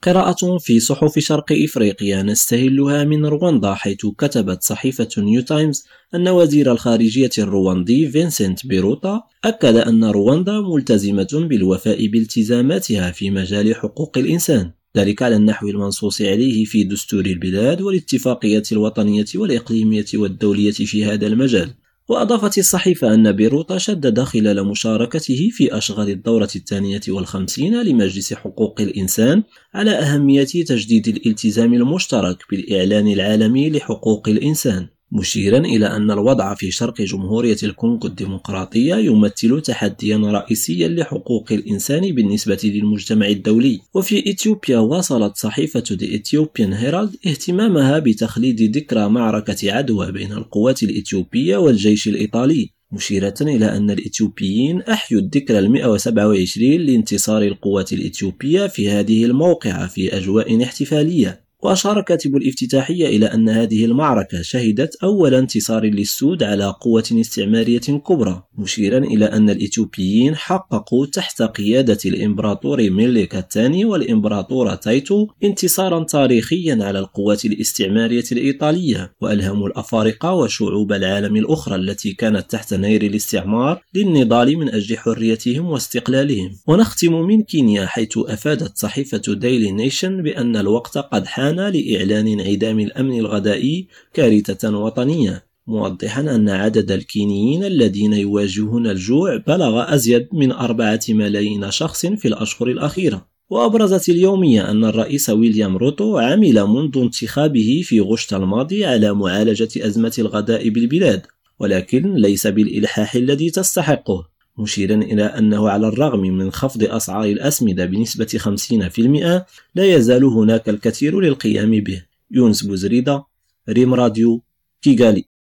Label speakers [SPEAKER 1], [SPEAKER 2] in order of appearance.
[SPEAKER 1] قراءة في صحف شرق إفريقيا نستهلها من رواندا، حيث كتبت صحيفة نيو تايمز أن وزير الخارجية الرواندي فينسنت بيروتا أكد أن رواندا ملتزمة بالوفاء بالتزاماتها في مجال حقوق الإنسان، ذلك على النحو المنصوص عليه في دستور البلاد والاتفاقيات الوطنية والإقليمية والدولية في هذا المجال. وأضافت الصحيفة أن بيروتا شدد خلال مشاركته في أشغال الدورة 52 لمجلس حقوق الإنسان على أهمية تجديد الالتزام المشترك بالإعلان العالمي لحقوق الإنسان، مشيرا إلى أن الوضع في شرق جمهورية الكونغو الديمقراطية يمثل تحديا رئيسيا لحقوق الإنسان بالنسبة للمجتمع الدولي. وفي إثيوبيا واصلت صحيفة The Ethiopian Herald اهتمامها بتخليد ذكرى معركة عدوى بين القوات الإثيوبية والجيش الإيطالي، مشيرة إلى أن الإثيوبيين أحيوا الذكرى 127 لانتصار القوات الإثيوبية في هذه الموقعة في أجواء احتفالية. وأشار كاتب الافتتاحية إلى أن هذه المعركة شهدت أول انتصار للسود على قوة استعمارية كبرى، مشيرا إلى أن الإثيوبيين حققوا تحت قيادة الإمبراطور ميليك الثاني والإمبراطور تايتو انتصارا تاريخيا على القوات الاستعمارية الإيطالية، وألهموا الأفارقة وشعوب العالم الأخرى التي كانت تحت نير الاستعمار للنضال من أجل حريتهم واستقلالهم. ونختم من كينيا، حيث أفادت صحيفة ديلي نيشن بأن الوقت قد حان لإعلان انعدام الأمن الغذائي كارثة وطنية، موضحا أن عدد الكينيين الذين يواجهون الجوع بلغ أزيد من 4 ملايين شخص في الأشهر الأخيرة. وأبرزت اليومية أن الرئيس ويليام روتو عمل منذ انتخابه في غشت الماضي على معالجة أزمة الغذاء بالبلاد، ولكن ليس بالإلحاح الذي تستحقه، مشيرا إلى أنه على الرغم من خفض أسعار الأسمدة بنسبة 50% لا يزال هناك الكثير للقيام به. يونس بوزريدة، ريم راديو، كيغالي.